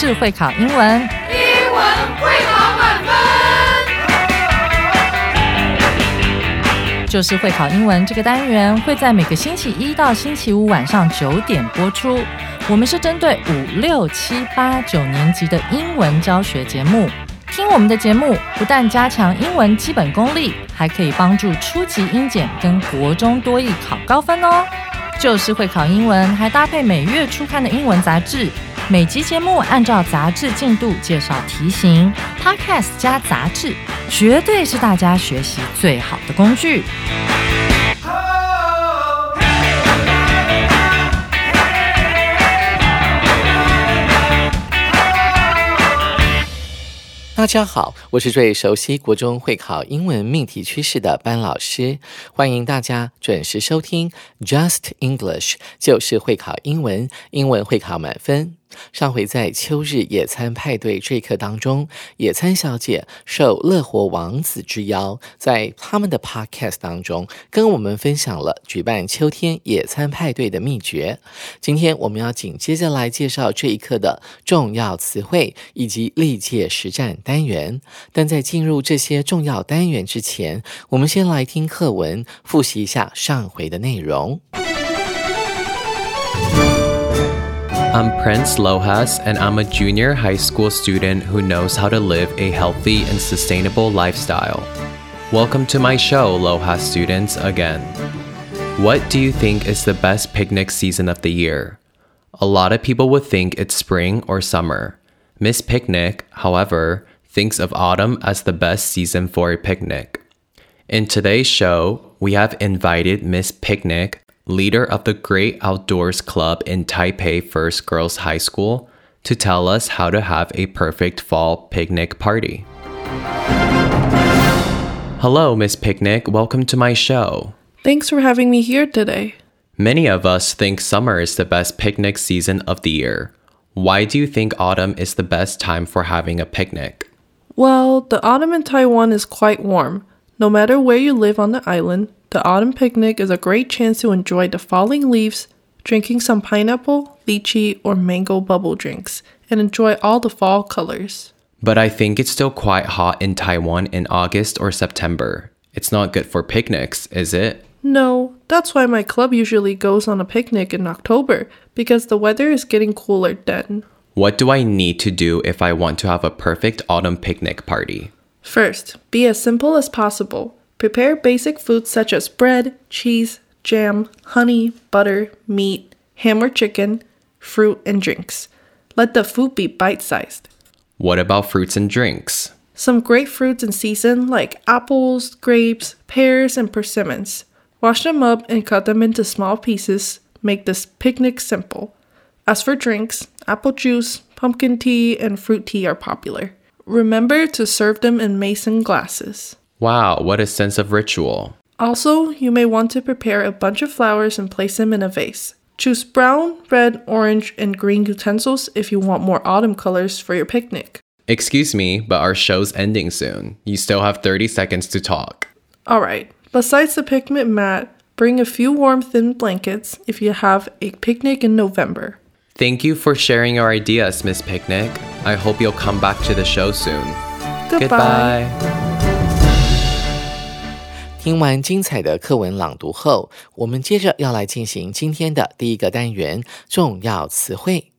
就是会考英文， 英文会考满分。 就是会考英文这个单元会在每个星期一到星期五晚上9点播出。我们是针对5、6、7、8、9年级的英文教学节目。听我们的节目，不但加强英文基本功力，还可以帮助初级英检跟国中多益考高分哦。就是会考英文，还搭配每月初刊的英文杂志。每集节目按照杂志进度介绍题型 ，Podcast 加杂志，绝对是大家学习最好的工具。 大家好，我是最熟悉国中会考英文命题趋势的班老师，欢迎大家准时收听 Just English， 就是会考英文，英文会考满分。上回在秋日野餐派对这一课当中，野餐小姐受乐活王子之邀，在他们的 podcast 当中跟我们分享了举办秋天野餐派对的秘诀。今天我们要紧接着来介绍这一课的重要词汇以及历届实战单元。但在进入这些重要单元之前，我们先来听课文，复习一下上回的内容。 I'm Prince Lohas, and I'm a junior high school student who knows how to live a healthy and sustainable lifestyle. Welcome to my show, Lohas students, again. What do you think is the best picnic season of the year? A lot of people would think it's spring or summer. Miss Picnic, however, thinks of autumn as the best season for a picnic. In today's show, we have invited Miss Picnic, leader of the Great Outdoors Club in Taipei First Girls High School, to tell us how to have a perfect fall picnic party. Hello, Miss Picnic. Welcome to my show. Thanks for having me here today. Many of us think summer is the best picnic season of the year. Why do you think autumn is the best time for having a picnic? Well, the autumn in Taiwan is quite warm. No matter where you live on the island, the autumn picnic is a great chance to enjoy the falling leaves, drinking some pineapple, lychee, or mango bubble drinks, and enjoy all the fall colors. But I think it's still quite hot in Taiwan in August or September. It's not good for picnics, is it? No, that's why my club usually goes on a picnic in October, because the weather is getting cooler then. What do I need to do if I want to have a perfect autumn picnic party? First, be as simple as possible. Prepare basic foods such as bread, cheese, jam, honey, butter, meat, ham or chicken, fruit, and drinks. Let the food be bite-sized. What about fruits and drinks? Some great fruits in season like apples, grapes, pears, and persimmons. Wash them up and cut them into small pieces. Make this picnic simple. As for drinks, apple juice, pumpkin tea, and fruit tea are popular. Remember to serve them in mason glasses. Wow, what a sense of ritual. Also, you may want to prepare a bunch of flowers and place them in a vase. Choose brown, red, orange, and green utensils if you want more autumn colors for your picnic. Excuse me, but our show's ending soon. You still have 30 seconds to talk. Alright, besides the picnic mat, bring a few warm thin blankets if you have a picnic in November. Thank you for sharing your ideas, Miss Picnic. I hope you'll come back to the show soon. Goodbye. 听完精彩的课文朗读后，我们接着要来进行今天的第一个单元重要词汇。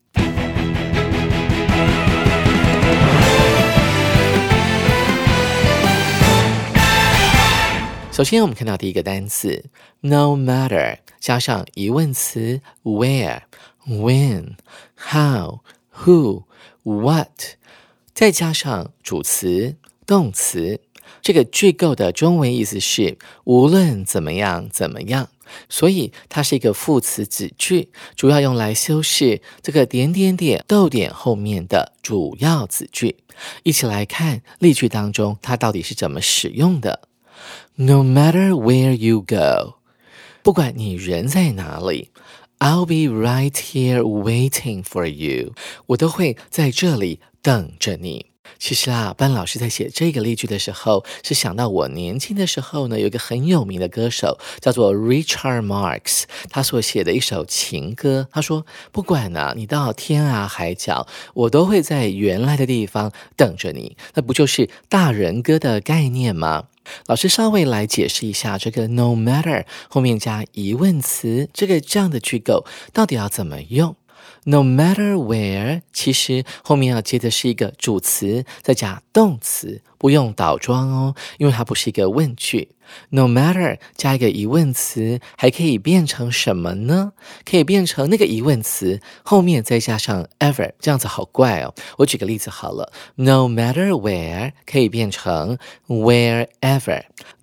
首先我们看到第一个单词 no matter 加上疑问词 where, when, how, who, what 再加上主词动词，这个句构的中文意思是无论怎么样怎么样，所以它是一个副词子句，主要用来修饰这个点点点逗点后面的主要子句。一起来看例句当中它到底是怎么使用的。No matter where you go， 不管你人在哪里， I'll be right here waiting for you， 我都会在这里等着你。 其实啊，班老师在写这个例句的时候，是想到我年轻的时候呢，有一个很有名的歌手叫做 Richard Marx， 他所写的一首情歌。他说，不管啊你到天涯海角，我都会在原来的地方等着你。那不就是大人歌的概念吗？老师稍微来解释一下这个 no matter 后面加疑问词，这样的句构到底要怎么用。No matter where 其实后面要接的是一个主词，再加动词，不用倒装哦，因为它不是一个问句。No matter 加一个疑问词，还可以变成什么呢？可以变成那个疑问词后面再加上 ever， 这样子好怪哦。我举个例子好了， No matter where 可以变成 wherever，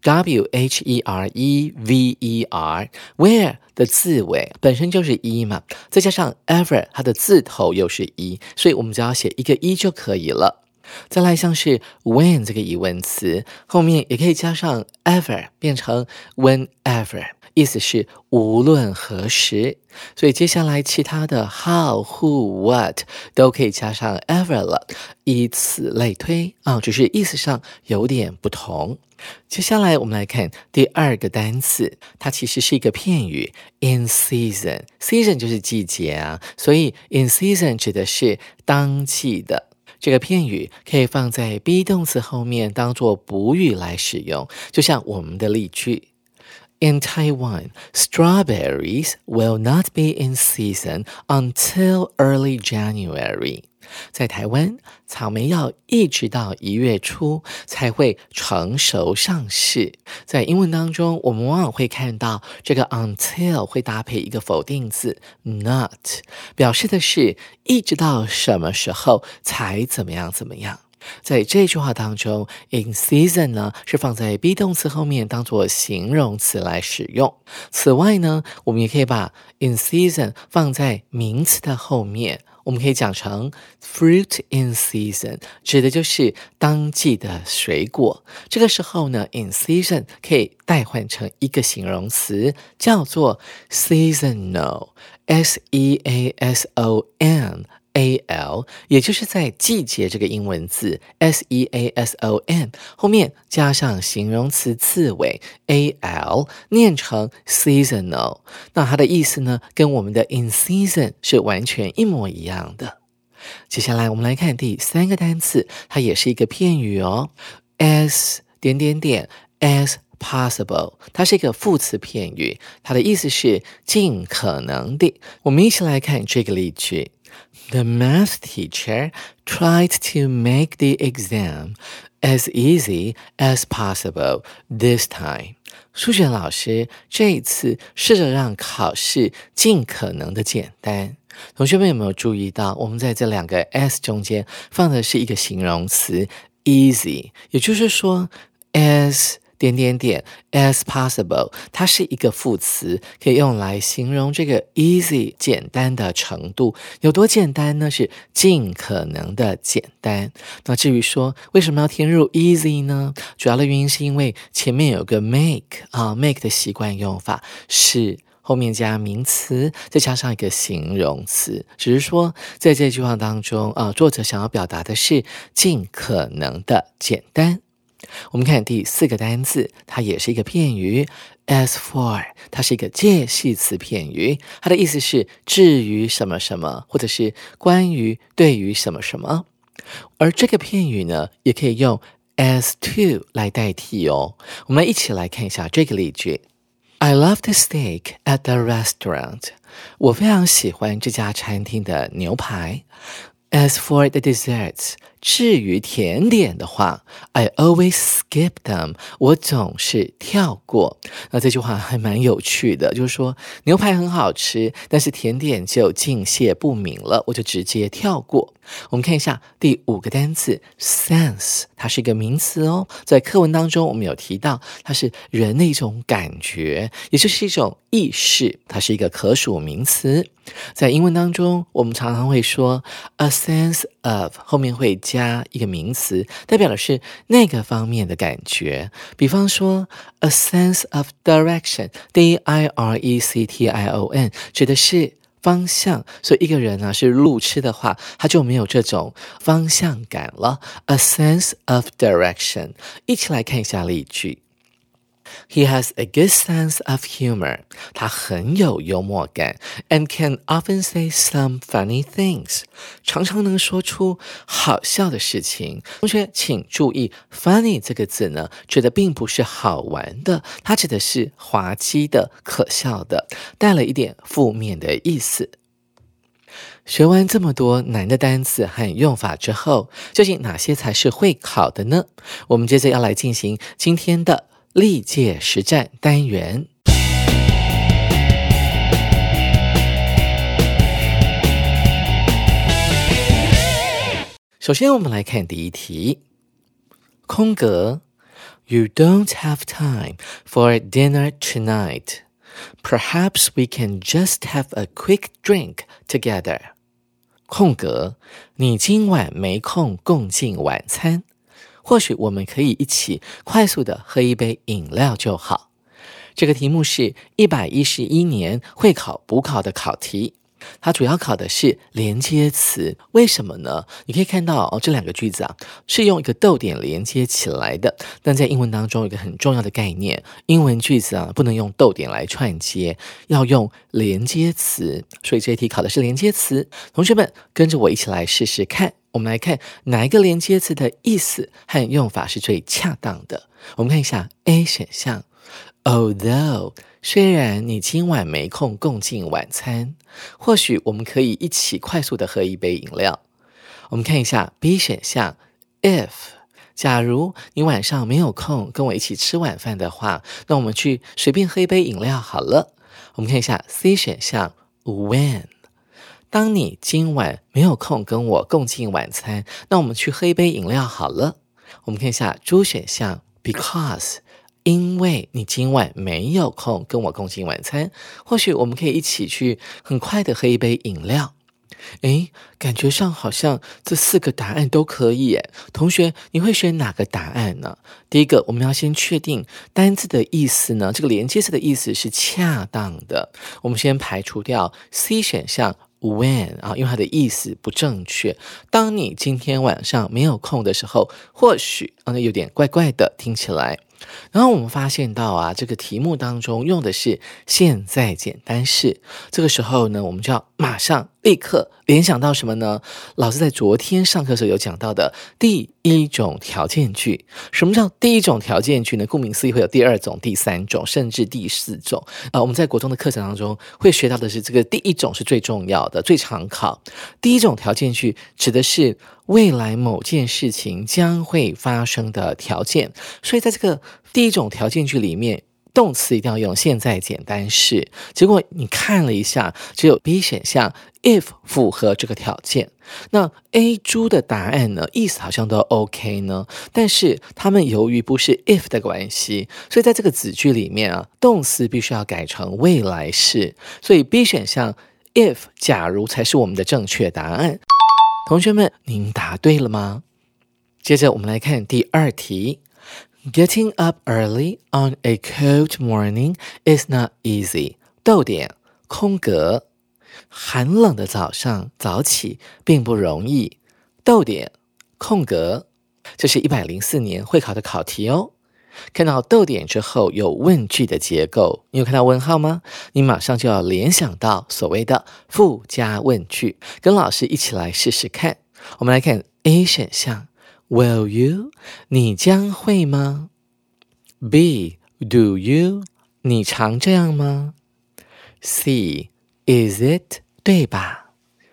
W-H-E-R-E-V-E-R， where 的字尾本身就是一嘛，再加上 ever 它的字头又是一，所以我们只要写一个一就可以了。再来像是 when 这个疑问词后面也可以加上 ever 变成 whenever， 意思是无论何时。所以接下来其他的 how who what 都可以加上 ever 了，以此类推只是意思上有点不同。接下来我们来看第二个单词，它其实是一个片语 in season， season 就是季节啊，所以 in season 指的是当季的。这个片语可以放在 be 动词后面当做补语来使用，就像我们的例句 In Taiwan, strawberries will not be in season until early January. 在台湾，草莓要一直到1月初才会成熟上市。在英文当中，我们往往会看到这个 until 会搭配一个否定字 not， 表示的是一直到什么时候才怎么样怎么样。在这句话当中 in season 呢是放在 be 动词后面当作形容词来使用。此外呢，我们也可以把 in season 放在名词的后面，我们可以讲成 fruit in season， 指的就是当季的水果。这个时候呢 in season 可以代换成一个形容词，叫做 seasonal， S-E-A-S-O-N-A-L， 也就是在季节这个英文字 S-E-A-S-O-N 后面加上形容词字尾 A-L， 念成 seasonal。 那它的意思呢跟我们的 in season 是完全一模一样的。接下来我们来看第三个单词，它也是一个片语哦， as as possible， 它是一个副词片语，它的意思是尽可能的。我们一起来看这个例句，The math teacher tried to make the exam as easy as possible this time. 数学老师这一次试着让考试尽可能的简单。同学们有没有注意到，我们在这两个 as 中间放的是一个形容词 easy， 也就是说 as as possible 它是一个副词，可以用来形容这个 easy 简单的程度。有多简单呢？是尽可能的简单。那至于说为什么要填入 easy 呢？主要的原因是因为前面有个 make 的习惯用法是后面加名词再加上一个形容词，只是说在这句话当中作者想要表达的是尽可能的简单。我们看第四个单字，它也是一个片语 as for， 它是一个介系词片语，它的意思是至于什么什么，或者是关于对于什么什么。而这个片语呢也可以用 as to 来代替哦。我们一起来看一下这个例句， I love the steak at the restaurant， 我非常喜欢这家餐厅的牛排。As for the desserts， 至于甜点的话 I always skip them， 我总是跳过。那这句话还蛮有趣的，就是说牛排很好吃，但是甜点就敬谢不敏了，我就直接跳过。我们看一下第五个单词 sense， 它是一个名词哦，在课文当中我们有提到它是人的一种感觉，也就是一种意识，它是一个可数名词。在英文当中我们常常会说 a sense of 后面会加一个名词，代表的是那个方面的感觉。比方说 a sense of direction， D-I-R-E-C-T-I-O-N 指的是方向，所以一个人呢是路痴的话，他就没有这种方向感了。A sense of direction。一起来看一下例句。He has a good sense of humor. 他很有幽默感 and can often say some funny things. 常常能说出好笑的事情。同学请注意 funny 这个字呢，指的并不是好玩的，它指的是滑稽的、可笑的，带了一点负面的意思。学完这么多难的单词和用法之后，究竟哪些才是会考的呢？我们接着要来进行今天的历届实战单元。首先我们来看第一题，空格 You don't have time for dinner tonight. Perhaps we can just have a quick drink together. 空格你今晚没空共进晚餐，或许我们可以一起快速的喝一杯饮料就好。这个题目是111年会考补考的考题，它主要考的是连接词。为什么呢？你可以看到这两个句子啊是用一个逗点连接起来的，但在英文当中有一个很重要的概念，英文句子啊不能用逗点来串接，要用连接词，所以这一题考的是连接词。同学们跟着我一起来试试看，我们来看哪一个连接词的意思和用法是最恰当的。我们看一下 A 选项 Although 虽然你今晚没空共进晚餐，或许我们可以一起快速的喝一杯饮料。我们看一下 B 选项 If 假如你晚上没有空跟我一起吃晚饭的话，那我们去随便喝一杯饮料好了。我们看一下 C 选项 When当你今晚没有空跟我共进晚餐，那我们去喝一杯饮料好了。我们看一下 D 选项 Because因为你今晚没有空跟我共进晚餐，或许我们可以一起去很快的喝一杯饮料。诶，感觉上好像这4个答案都可以耶。同学，你会选哪个答案呢？第一个，我们要先确定单字的意思呢，这个连接词的意思是恰当的。我们先排除掉 C 选项When 因为它的意思不正确。当你今天晚上没有空的时候，或许那有点怪怪的听起来。然后我们发现到这个题目当中用的是现在简单式，这个时候呢，我们就要马上立刻联想到什么呢？老师在昨天上课的时候有讲到的第一种条件句。什么叫第一种条件句呢？顾名思义会有第2种、第3种，甚至第4种。我们在国中的课程当中会学到的是这个第一种是最重要的，最常考。第一种条件句指的是未来某件事情将会发生的条件，所以在这个第一种条件句里面，动词一定要用现在简单式。结果你看了一下，只有 B 选项 if 符合这个条件。那 A 猪的答案呢，意思好像都 OK 呢，但是他们由于不是 if 的关系，所以在这个子句里面动词必须要改成未来式，所以 B 选项 if 假如才是我们的正确答案。同学们，您答对了吗？接着我们来看第2题。Getting up early on a cold morning is not easy. 逗点空格寒冷的早上早起并不容易。逗点空格这是104年会考的考题哦。看到逗点之后有问句的结构，你有看到问号吗？你马上就要联想到所谓的附加问句，跟老师一起来试试看。我们来看 A 选项 Will you 你将会吗？ B Do you 你常这样吗？ C Is it 对吧？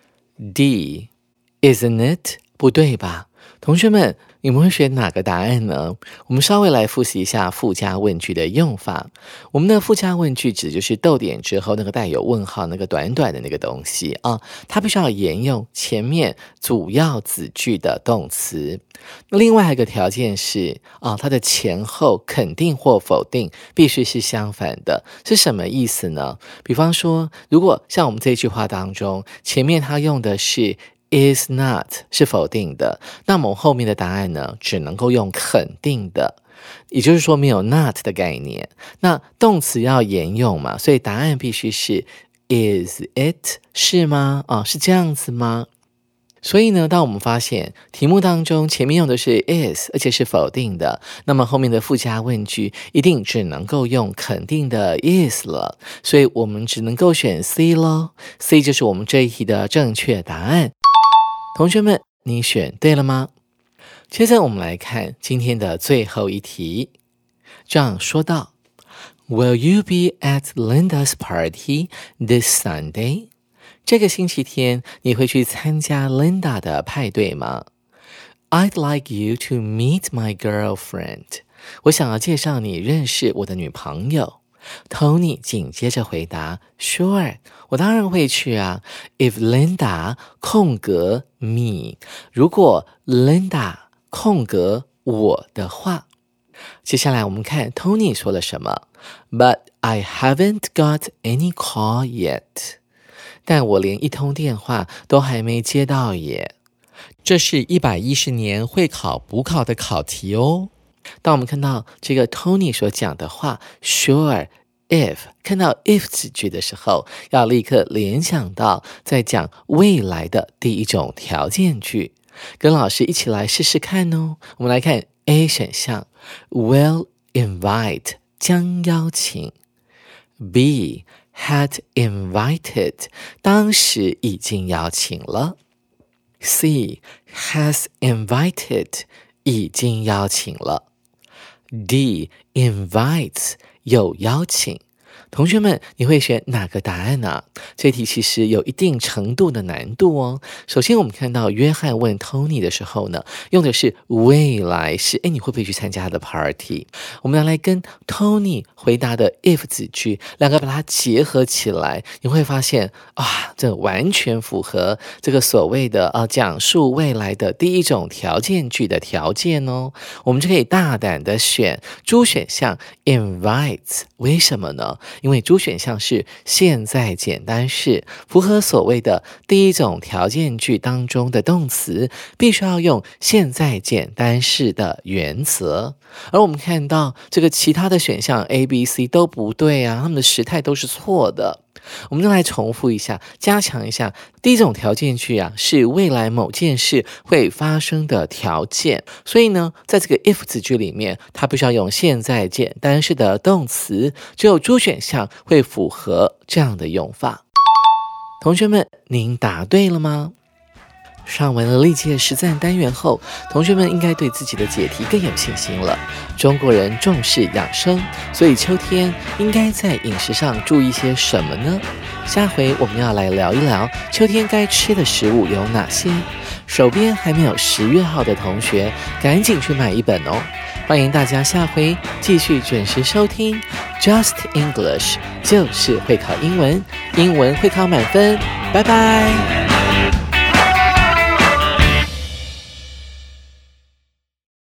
D Isn't it 不对吧？同学们，你们会选哪个答案呢？我们稍微来复习一下附加问句的用法。我们的附加问句指就是逗点之后那个带有问号那个短短的那个东西它必须要沿用前面主要子句的动词。那另外一个条件是它的前后肯定或否定必须是相反的。是什么意思呢？比方说，如果像我们这句话当中，前面它用的是is not 是否定的，那么后面的答案呢，只能够用肯定的，也就是说没有 not 的概念。那动词要沿用嘛，所以答案必须是 Is it 是吗？是这样子吗？所以呢，当我们发现题目当中前面用的是 is， 而且是否定的，那么后面的附加问句一定只能够用肯定的 is 了，所以我们只能够选 C 咯。C 就是我们这一题的正确答案。同学们，你选对了吗？接着我们来看今天的最后一题。这样说道 Will you be at Linda's party this Sunday?这个星期天你会去参加 Linda 的派对吗？ I'd like you to meet my girlfriend. 我想要介绍你认识我的女朋友。 Tony 紧接着回答 Sure, 我当然会去啊。 If Linda 空格 me 如果 Linda 空格我的话。接下来我们看 Tony 说了什么。 But I haven't got any call yet.但我连一通电话都还没接到耶。这是110年会考补考的考题哦。当我们看到这个 Tony 所讲的话 Sure, if 看到 if 子句的时候，要立刻联想到在讲未来的第一种条件句。跟老师一起来试试看哦。我们来看 A 选项 Will invite 将邀请。 B had invited 当时已经邀请了。 C has invited 已经邀请了。 D invites 有邀请。同学们，你会选哪个答案呢？这题其实有一定程度的难度哦。首先我们看到约翰问 Tony 的时候呢，用的是未来式，你会不会去参加他的 party？ 我们来跟 Tony 回答的 if 子句两个把它结合起来，你会发现这完全符合这个所谓的讲述未来的第一种条件句的条件哦。我们就可以大胆的选猪选项 invites。 为什么呢？因为猪选项是现在简单式，符合所谓的第一种条件句当中的动词必须要用现在简单式的原则。而我们看到这个其他的选项 A、B、C 都不对啊，他们的时态都是错的。我们再来重复一下，加强一下。第一种条件句是未来某件事会发生的条件，所以呢，在这个 if 子句里面，它必须要用现在简单式的动词，只有猪选项会符合这样的用法。同学们，您答对了吗？上完了历届实战单元后，同学们应该对自己的解题更有信心了。中国人重视养生，所以秋天应该在饮食上注意些什么呢？下回我们要来聊一聊秋天该吃的食物有哪些。手边还没有10月号的同学，赶紧去买一本哦。欢迎大家下回继续准时收听 Just English， 就是会考英文，英文会考满分。拜拜。